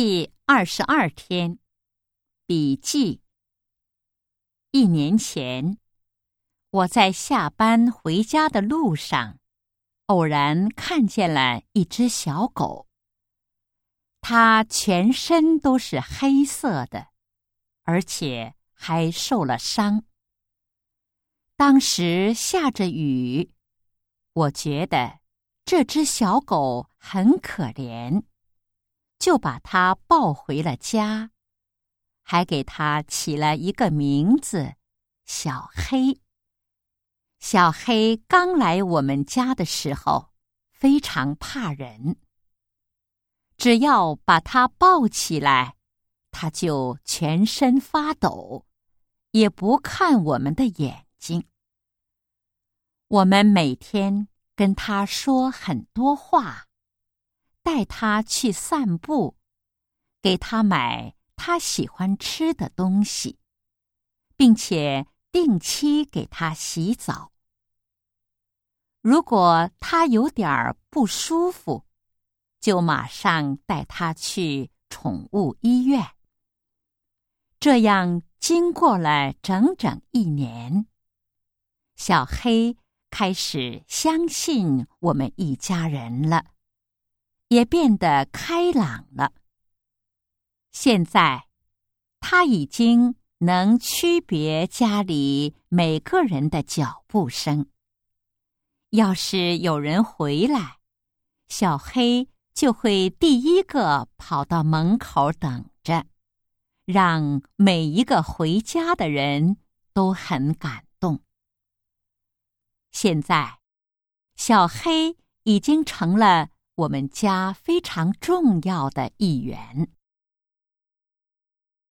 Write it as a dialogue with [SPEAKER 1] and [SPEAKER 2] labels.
[SPEAKER 1] 第22天，笔记。1年前，我在下班回家的路上，偶然看见了一只小狗。它全身都是黑色的，而且还受了伤。当时下着雨，我觉得这只小狗很可怜，就把它抱回了家，还给它起了一个名字，小黑。小黑刚来我们家的时候，非常怕人。只要把它抱起来，它就全身发抖，也不看我们的眼睛。我们每天跟它说很多话，带它去散步，给它买它喜欢吃的东西，并且定期给它洗澡。如果它有点不舒服，就马上带它去宠物医院。这样经过了整整1年，小黑开始相信我们一家人了，也变得开朗了。现在，他已经能区别家里每个人的脚步声。要是有人回来，小黑就会第一个跑到门口等着，让每一个回家的人都很感动。现在，小黑已经成了我们家非常重要的一员。